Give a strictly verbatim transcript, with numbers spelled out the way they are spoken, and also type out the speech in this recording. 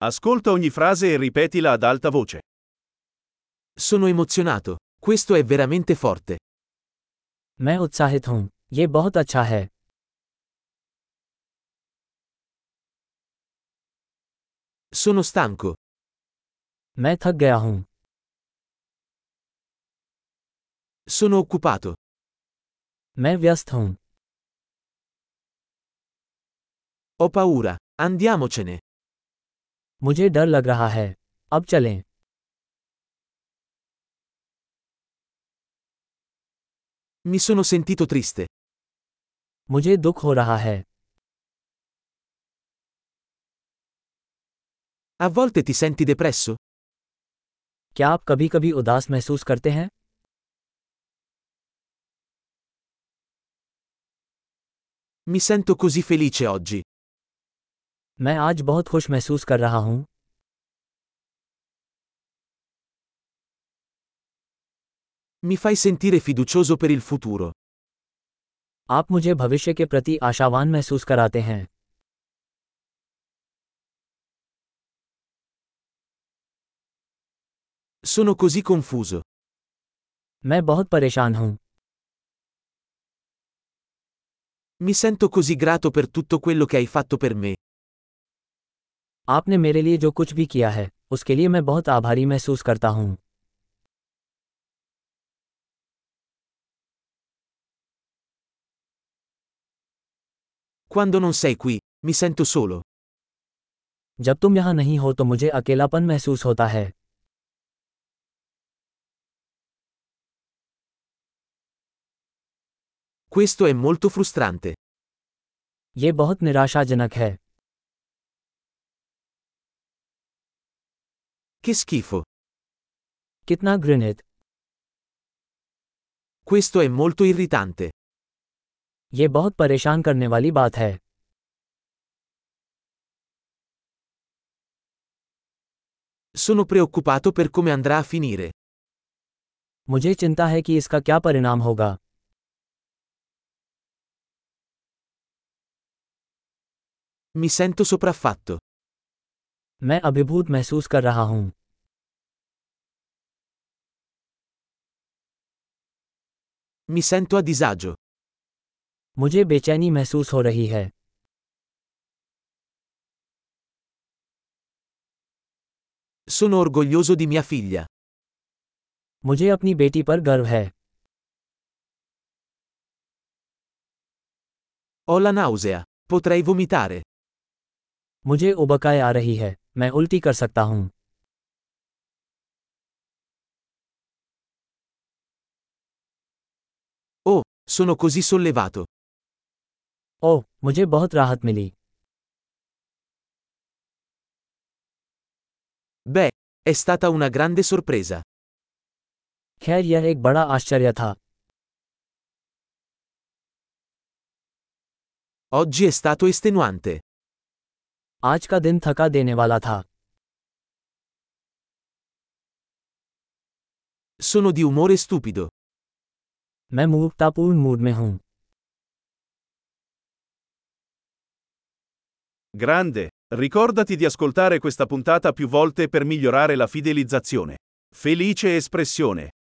Ascolta ogni frase e ripetila ad alta voce. Sono emozionato. Questo è veramente forte. मैं उत्साहित हूँ ये बहुत अच्छा है। Sono stanco. मैं थक गया हूँ। Sono occupato. मैं व्यस्त हूँ। Ho paura. Andiamocene. मुझे डर लग रहा है। अब चलें। Mi sono sentito triste. मुझे दुख हो रहा है। A volte ti senti depresso? क्या आप कभी कभी उदास महसूस करते हैं? Mi sento così felice oggi. मैं आज बहुत खुश महसूस कर रहा हूँ। Mi fai sentire fiducioso per il futuro. आप मुझे भविष्य के प्रति आशावान महसूस कराते हैं। Sono così confuso. मैं बहुत परेशान हूँ। Mi sento così grato per tutto quello che hai fatto per me. आपने मेरे लिए जो कुछ भी किया है उसके लिए मैं बहुत आभारी महसूस करता हूँ। Quando non sei qui, mi sento solo. जब तुम यहाँ नहीं हो तो मुझे अकेलापन महसूस होता है। Questo è molto frustrante. ये बहुत निराशाजनक है। Che schifo. कितना घृणित। Questo è molto irritante. ये बहुत परेशान करने वाली बात है। Sono preoccupato per come andrà a finire. मुझे चिंता है कि इसका क्या परिणाम होगा। Mi sento sopraffatto. मैं अभिभूत महसूस कर रहा हूँ। Mi sento a disagio. मुझे बेचैनी महसूस हो रही है। Sono orgoglioso di mia figlia. मुझे अपनी बेटी पर गर्व है। Ho la nausea. Potrei vomitare. मुझे उबकाई आ रही है, मैं उल्टी कर सकता हूँ। Oh, sono così sollevato. ओह, मुझे बहुत राहत मिली। Beh, è stata una grande sorpresa. खैर यह एक बड़ा आश्चर्य था। Oggi è stato estenuante. आज का दिन थका देने वाला था। Sono di umore stupido. मैं मूर्खतापूर्ण मूड में हूँ। Grande, ricordati di ascoltare questa puntata più volte per migliorare la fidelizzazione. Felice espressione.